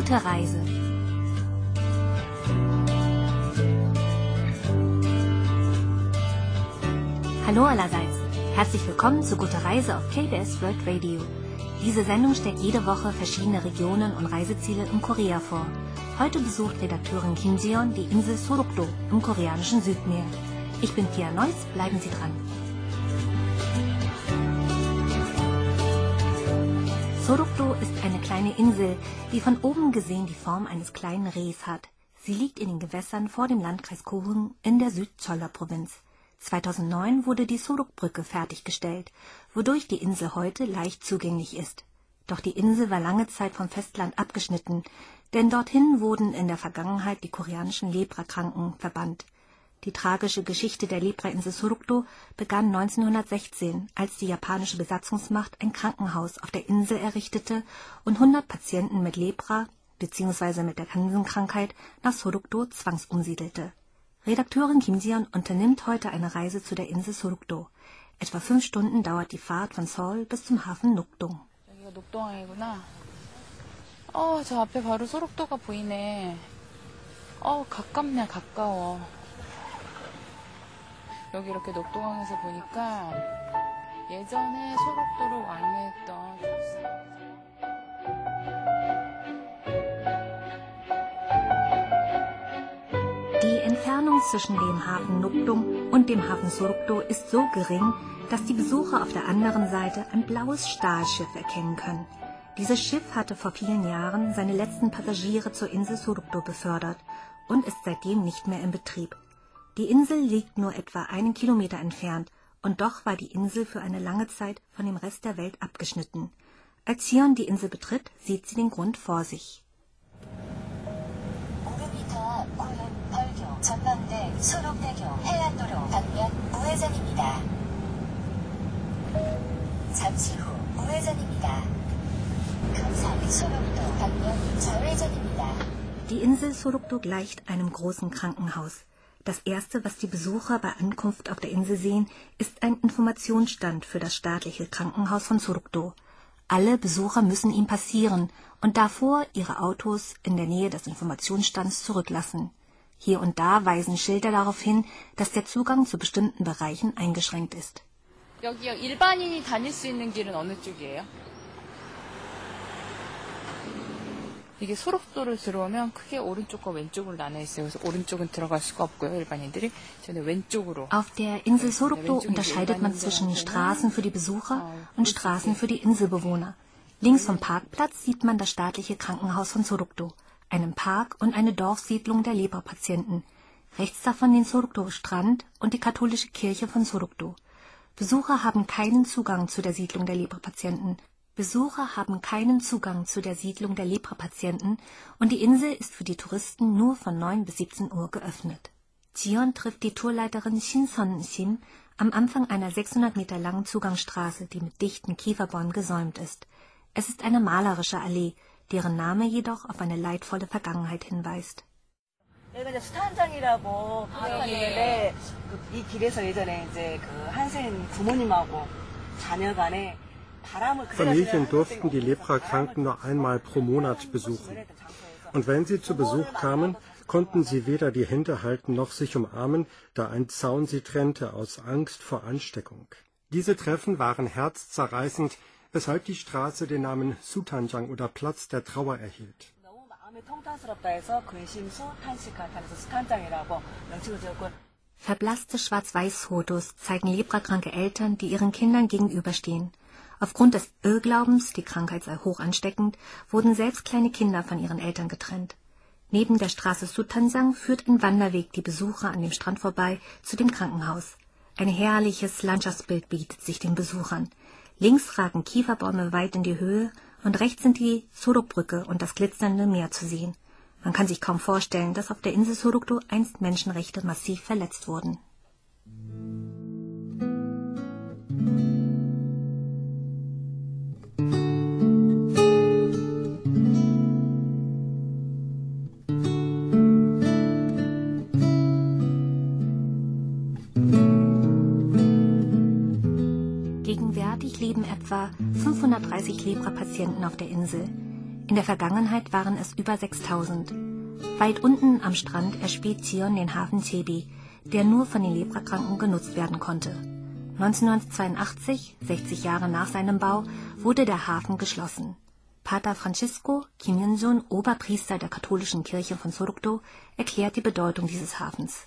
Gute Reise. Hallo allerseits. Herzlich willkommen zu Gute Reise auf KBS World Radio. Diese Sendung stellt jede Woche verschiedene Regionen und Reiseziele in Korea vor. Heute besucht Redakteurin Kim Ji-yeon die Insel Sorokdo im koreanischen Südmeer. Ich bin Pia Neuss, bleiben Sie dran. Sorokdo ist eine kleine Insel, die von oben gesehen die Form eines kleinen Rehs hat. Sie liegt in den Gewässern vor dem Landkreis Kogung in der Südcholla-Provinz. 2009 wurde die Sorok-Brücke fertiggestellt, wodurch die Insel heute leicht zugänglich ist. Doch die Insel war lange Zeit vom Festland abgeschnitten, denn dorthin wurden in der Vergangenheit die koreanischen Leprakranken verbannt. Die tragische Geschichte der Leprainsel Sorokdo begann 1916, als die japanische Besatzungsmacht ein Krankenhaus auf der Insel errichtete und 100 Patienten mit Lepra bzw. mit der Hansenkrankheit nach Sorokdo zwangsumsiedelte. Redakteurin Kim Ji-yeon unternimmt heute eine Reise zu der Insel Sorokdo. Etwa 5 Stunden dauert die Fahrt von Seoul bis zum Hafen Nokdong. 여기가 녹동항이구나. 저 앞에 바로 소록도가 보이네. 가깝네, 가까워. 여기 이렇게 녹동항에서 보니까 예전에 소록도로 왕래했던 Die Entfernung zwischen dem Hafen Nokdong und dem Hafen Sorokdo ist so gering, dass die Besucher auf der anderen Seite ein blaues Stahlschiff erkennen können. Dieses Schiff hatte vor vielen Jahren seine letzten Passagiere zur Insel Sorokdo befördert und ist seitdem nicht mehr in Betrieb. Die Insel liegt nur etwa 1 Kilometer entfernt und doch war die Insel für eine lange Zeit von dem Rest der Welt abgeschnitten. Als Ji-yeon die Insel betritt, sieht sie den Grund vor sich. 전망대 소록대교 해안도로 방면 우회전입니다. 잠시 후 우회전입니다. 감사히 소록도 방면 좌회전입니다. Die Insel Sorokdo gleicht einem großen Krankenhaus. Das erste, was die Besucher bei Ankunft auf der Insel sehen, ist ein Informationsstand für das staatliche Krankenhaus von Sorokdo. Alle Besucher müssen ihn passieren und davor ihre Autos in der Nähe des Informationsstands zurücklassen. Hier und da weisen Schilder darauf hin, dass der Zugang zu bestimmten Bereichen eingeschränkt ist. 여기 일반인이 다닐 수 있는 길은 어느 쪽이에요? 이게 소록도를 들어오면 크게 오른쪽과 왼쪽으로 나눠 있어요. 그래서 오른쪽은 들어갈 수가 없고요, 일반인들이. 저는 왼쪽으로. Auf der Insel Sorokdo unterscheidet man zwischen Straßen für die Besucher und Straßen für die Inselbewohner. Links vom Parkplatz sieht man das staatliche Krankenhaus von Sorokdo, einen Park und eine Dorfsiedlung der Leprapatienten. Rechts davon den Sorokdo-Strand und die katholische Kirche von Sorokdo. Besucher haben keinen Zugang zu der Siedlung der Leprapatienten. Und die Insel ist für die Touristen nur von 9 bis 17 Uhr geöffnet. Ji-yeon trifft die Tourleiterin Shin Son-sim am Anfang einer 600 Meter langen Zugangsstraße, die mit dichten Kieferbäumen gesäumt ist. Es ist eine malerische Allee, deren Name jedoch auf eine leidvolle Vergangenheit hinweist. 여기가 이제 수탄장이라고 하는데 이 길에서 예전에 이제 그 한센 부모님하고 자녀 간에 Familien durften die Leprakranken nur einmal pro Monat besuchen. Und wenn sie zu Besuch kamen, konnten sie weder die Hände halten noch sich umarmen, da ein Zaun sie trennte aus Angst vor Ansteckung. Diese Treffen waren herzzerreißend, weshalb die Straße den Namen Sutanjang oder Platz der Trauer erhielt. Verblasste Schwarz-Weiß-Fotos zeigen leprakranke Eltern, die ihren Kindern gegenüberstehen. Aufgrund des Irrglaubens, die Krankheit sei hoch ansteckend, wurden selbst kleine Kinder von ihren Eltern getrennt. Neben der Straße Sutanjang führt ein Wanderweg die Besucher an dem Strand vorbei zu dem Krankenhaus. Ein herrliches Landschaftsbild bietet sich den Besuchern. Links ragen Kieferbäume weit in die Höhe und rechts sind die Sorok-Brücke und das glitzernde Meer zu sehen. Man kann sich kaum vorstellen, dass auf der Insel Sorokdo einst Menschenrechte massiv verletzt wurden. Gegenwärtig leben etwa 530 Lepra-Patienten auf der Insel. In der Vergangenheit waren es über 6000. Weit unten am Strand erspäht Zion den Hafen Cebi, der nur von den Leprakranken genutzt werden konnte. 1982, 60 Jahre nach seinem Bau, wurde der Hafen geschlossen. Pater Francisco Kim Yun-sun, Oberpriester der katholischen Kirche von Sorokdo, erklärt die Bedeutung dieses Hafens.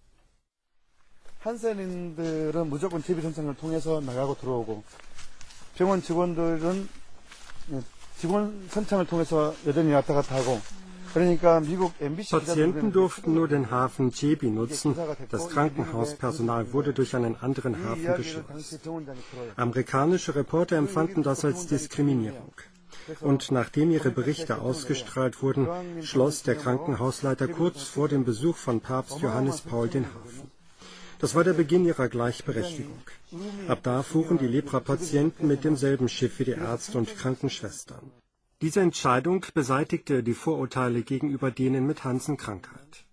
한센인들은 무조건 제비 선창을 통해서 나가고 들어오고 병원 직원들은 직원 선창을 통해서 여전히 왔다 갔다 하고 그러니까 미국 MBC Patienten durften nur den Hafen Cebi nutzen. Das Krankenhauspersonal wurde durch einen anderen Hafen geschleust. Amerikanische Reporter empfanden das als Diskriminierung. Und nachdem ihre Berichte ausgestrahlt wurden, schloss der Krankenhausleiter kurz vor dem Besuch von Papst Johannes Paul den Hafen. Das war der Beginn ihrer Gleichberechtigung. Ab da fuhren die Lepra-Patienten mit demselben Schiff wie die Ärzte und Krankenschwestern. Diese Entscheidung beseitigte die Vorurteile gegenüber denen mit Hansen-Krankheit.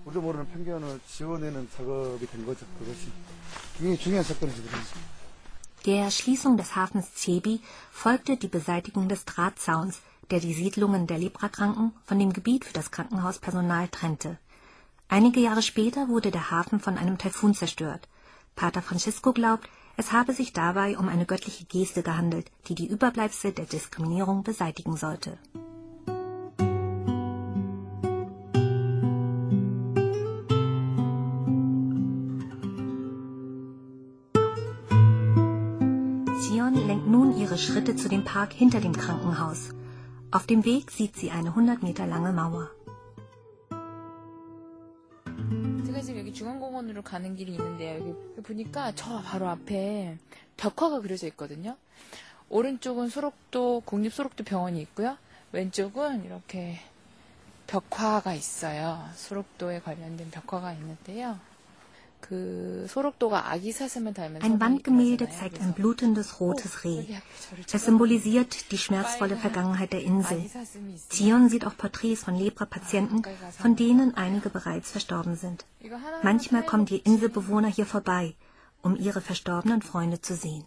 Der Schließung des Hafens Cebi folgte die Beseitigung des Drahtzauns, der die Siedlungen der Leprakranken von dem Gebiet für das Krankenhauspersonal trennte. Einige Jahre später wurde der Hafen von einem Taifun zerstört. Pater Francisco glaubt, es habe sich dabei um eine göttliche Geste gehandelt, die die Überbleibsel der Diskriminierung beseitigen sollte. Zion lenkt nun ihre Schritte zu dem Park hinter dem Krankenhaus. Auf dem Weg sieht sie eine 100 Meter lange Mauer. 제가 지금 여기 중앙공원으로 가는 길이 있는데요. 여기 보니까 저 바로 앞에 벽화가 그려져 있거든요. 오른쪽은 소록도 국립소록도 병원이 있고요. 왼쪽은 이렇게 벽화가 있어요. 소록도에 관련된 벽화가 있는데요. Ein Wandgemälde zeigt ein blutendes rotes Reh. Es symbolisiert die schmerzvolle Vergangenheit der Insel. Zion sieht auch Porträts von Lepra-Patienten, von denen einige bereits verstorben sind. Manchmal kommen die Inselbewohner hier vorbei, um ihre verstorbenen Freunde zu sehen.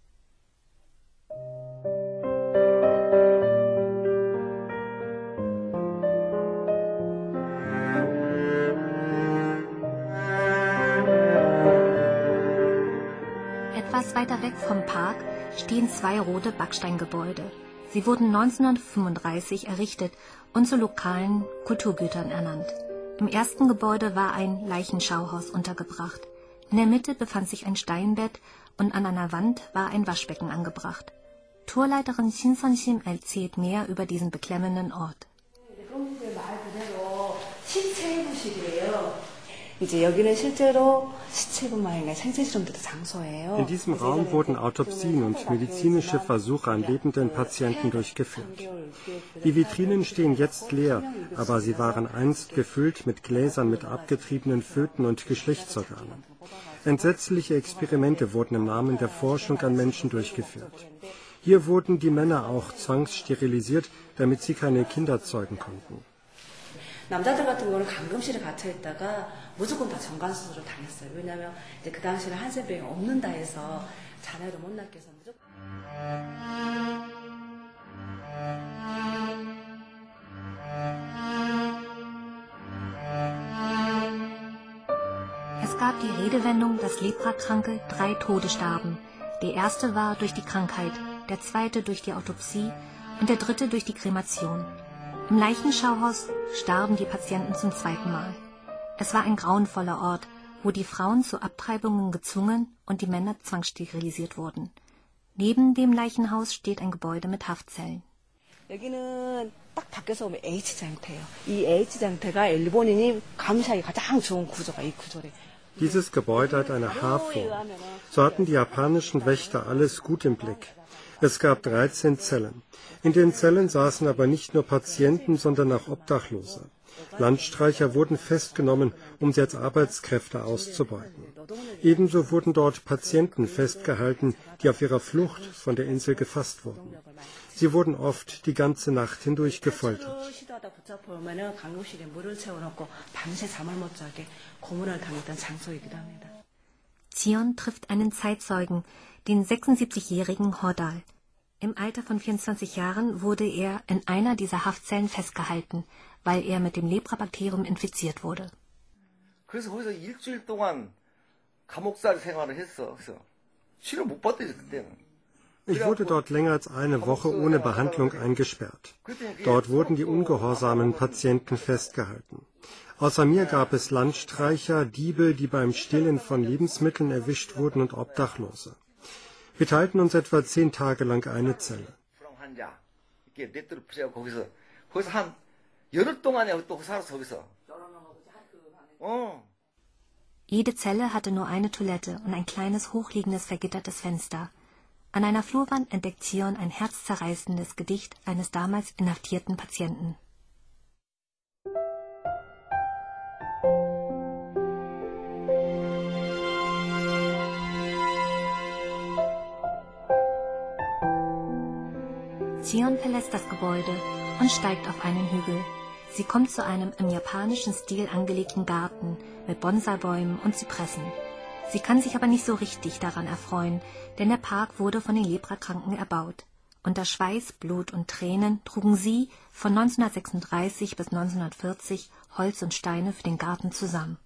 Etwas weiter weg vom Park stehen zwei rote Backsteingebäude. Sie wurden 1935 errichtet und zu lokalen Kulturgütern ernannt. Im ersten Gebäude war ein Leichenschauhaus untergebracht. In der Mitte befand sich ein Steinbett und an einer Wand war ein Waschbecken angebracht. Tourleiterin Shin Son-sim erzählt mehr über diesen beklemmenden Ort. In diesem Raum wurden Autopsien und medizinische Versuche an lebenden Patienten durchgeführt. Die Vitrinen stehen jetzt leer, aber sie waren einst gefüllt mit Gläsern mit abgetriebenen Föten und Geschlechtsorganen. Entsetzliche Experimente wurden im Namen der Forschung an Menschen durchgeführt. Hier wurden die Männer auch zwangssterilisiert, damit sie keine Kinder zeugen konnten. 남자들 같은 경우는 감금실에 갇혀 있다가 무조건 다 정관 수술을 당했어요. 왜냐하면 이제 그 당시에는 한센병이 없는다 해서 자녀를 못 낳게 해서 무조건. Es gab die Redewendung, dass Leprakranke 3 Tode starben. Der erste war durch die Krankheit, der zweite durch die Autopsie und der dritte durch die Kremation. Im Leichenschauhaus starben die Patienten zum zweiten Mal. Es war ein grauenvoller Ort, wo die Frauen zu Abtreibungen gezwungen und die Männer zwangssterilisiert wurden. Neben dem Leichenhaus steht ein Gebäude mit Haftzellen. 여기는 딱 밖에서 보면 H장터예요. 이 H장터가 일본인이 감시하기 가장 좋은 구조가 이 구조래. Dieses Gebäude hat eine H-Form. So hatten die japanischen Wächter alles gut im Blick. Es gab 13 Zellen. In den Zellen saßen aber nicht nur Patienten, sondern auch Obdachlose. Landstreicher wurden festgenommen, um sie als Arbeitskräfte auszubeuten. Ebenso wurden dort Patienten festgehalten, die auf ihrer Flucht von der Insel gefasst wurden. Sie wurden oft die ganze Nacht hindurch gefoltert. Zion trifft einen Zeitzeugen, den 76-jährigen Hordal. Im Alter von 24 Jahren wurde er in einer dieser Haftzellen festgehalten, weil er mit dem Leprabakterium infiziert wurde. 그래서 거기서 일주일 동안 감옥살 생활을 했어. 그래서 치료 못 받더니 그때는. Ich wurde dort länger als eine Woche ohne Behandlung eingesperrt. Dort wurden die ungehorsamen Patienten festgehalten. Außer mir gab es Landstreicher, Diebe, die beim Stehlen von Lebensmitteln erwischt wurden und Obdachlose. Wir teilten uns etwa 10 Tage lang eine Zelle. Jede Zelle hatte nur eine Toilette und ein kleines, hochliegendes, vergittertes Fenster. An einer Flurwand entdeckt Zion ein herzzerreißendes Gedicht eines damals inhaftierten Patienten. Zion verlässt das Gebäude und steigt auf einen Hügel. Sie kommt zu einem im japanischen Stil angelegten Garten mit Bonsai-Bäumen und Zypressen. Sie kann sich aber nicht so richtig daran erfreuen, denn der Park wurde von den Leprakranken erbaut. Unter Schweiß, Blut und Tränen trugen sie von 1936 bis 1940 Holz und Steine für den Garten zusammen.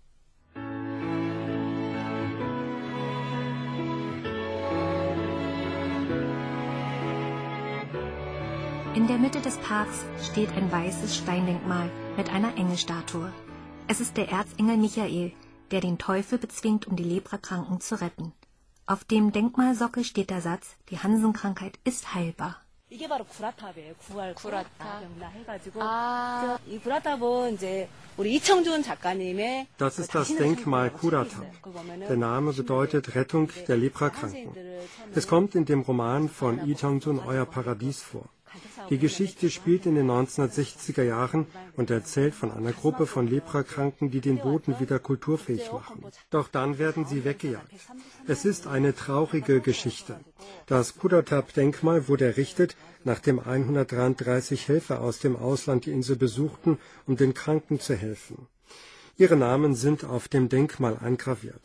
In der Mitte des Parks steht ein weißes Steindenkmal mit einer Engelstatue. Es ist der Erzengel Michael, der den Teufel bezwingt, um die Leprakranken zu retten. Auf dem Denkmalsockel steht der Satz, die Hansenkrankheit ist heilbar. 이게 바로 구라탑이에요. 구라탑. 해가지고 이 구라탑은 이제 우리 이청준 작가님의 Das ist das Denkmal Kuratab. Der Name bedeutet Rettung der Leprakranken. Es kommt in dem Roman von Lee Chang-jun Euer Paradies vor. Die Geschichte spielt in den 1960er Jahren und erzählt von einer Gruppe von Leprakranken, die den Boden wieder kulturfähig machen. Doch dann werden sie weggejagt. Es ist eine traurige Geschichte. Das Kuratab-Denkmal wurde errichtet, nachdem 133 Helfer aus dem Ausland die Insel besuchten, um den Kranken zu helfen. Ihre Namen sind auf dem Denkmal eingraviert.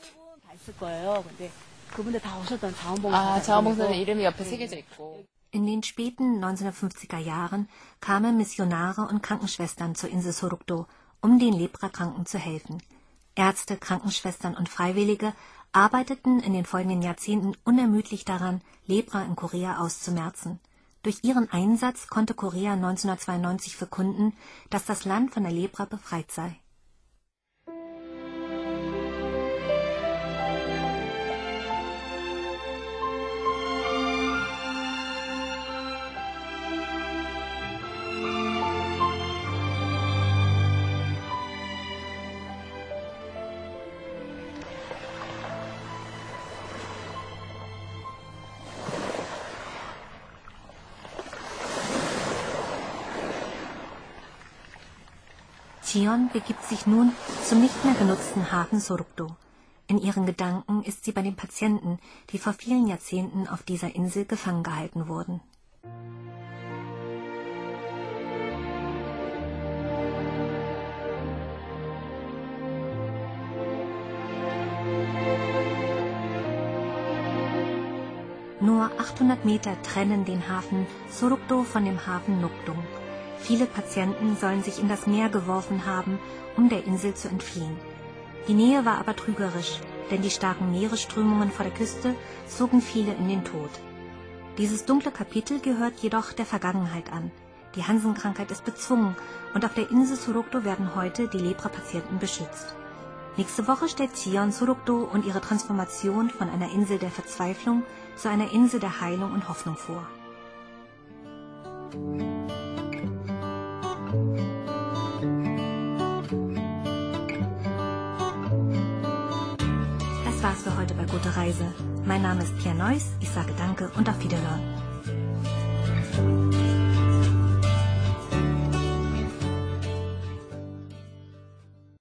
자원봉사자 이름이 옆에 새겨져 있고. In den späten 1950er Jahren kamen Missionare und Krankenschwestern zur Insel Sorokdo, um den Leprakranken zu helfen. Ärzte, Krankenschwestern und Freiwillige arbeiteten in den folgenden Jahrzehnten unermüdlich daran, Lepra in Korea auszumerzen. Durch ihren Einsatz konnte Korea 1992 verkünden, dass das Land von der Lepra befreit sei. Zion begibt sich nun zum nicht mehr genutzten Hafen Sorokdo. In ihren Gedanken ist sie bei den Patienten, die vor vielen Jahrzehnten auf dieser Insel gefangen gehalten wurden. Nur 800 Meter trennen den Hafen Sorokdo von dem Hafen Nokdong. Viele Patienten sollen sich in das Meer geworfen haben, um der Insel zu entfliehen. Die Nähe war aber trügerisch, denn die starken Meeresströmungen vor der Küste zogen viele in den Tod. Dieses dunkle Kapitel gehört jedoch der Vergangenheit an. Die Hansenkrankheit ist bezwungen und auf der Insel Sorokdo werden heute die Lepra-Patienten beschützt. Nächste Woche stellt Zion Sorokdo und ihre Transformation von einer Insel der Verzweiflung zu einer Insel der Heilung und Hoffnung vor. Das war's für heute bei Gute Reise. Mein Name ist Pia Neuss, ich sage Danke und auf Wiederhören.